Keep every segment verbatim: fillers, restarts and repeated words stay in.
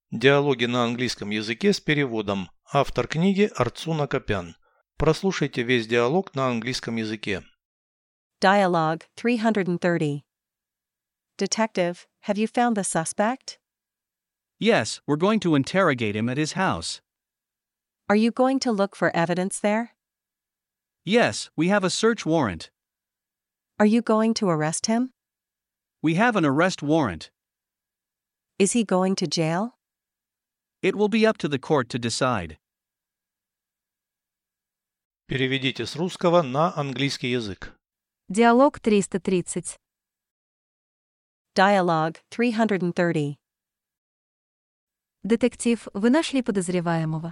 Диалоги на английском языке с переводом. Автор книги Арцуна Копян. Прослушайте весь диалог на английском языке. Dialogue three hundred thirty. Detective, have you found the suspect? Yes, we're going to interrogate him at his house. Are you going to look for evidence there? Yes, we have a search warrant. Are you going to arrest him? We have an arrest warrant. Is he going to jail? It will be up to the court to decide. Переведите с русского на английский язык. Диалог триста тридцать. Dialogue three hundred thirty. Детектив, вы нашли подозреваемого?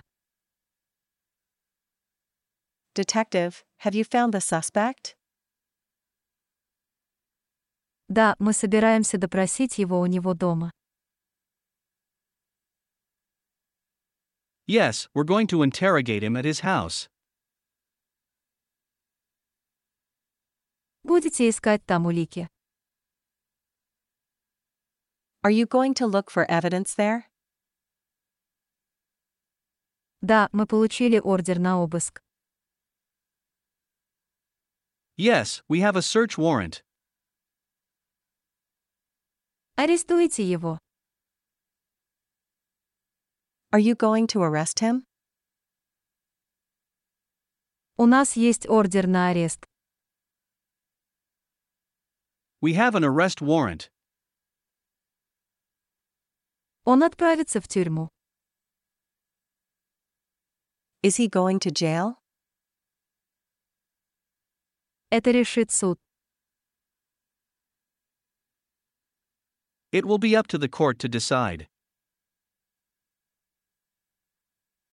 Detective, have you found the suspect? Да, мы собираемся допросить его у него дома. Yes, we're going to interrogate him at his house. Будете искать там улики? Are you going to look for evidence there? Да, мы получили ордер на обыск. Yes, we have a search warrant. Арестуйте его. Are you going to arrest him? У нас есть ордер на арест. We have an arrest warrant. Он отправится в тюрьму. Is he going to jail? Это решит суд. It will be up to the court to decide.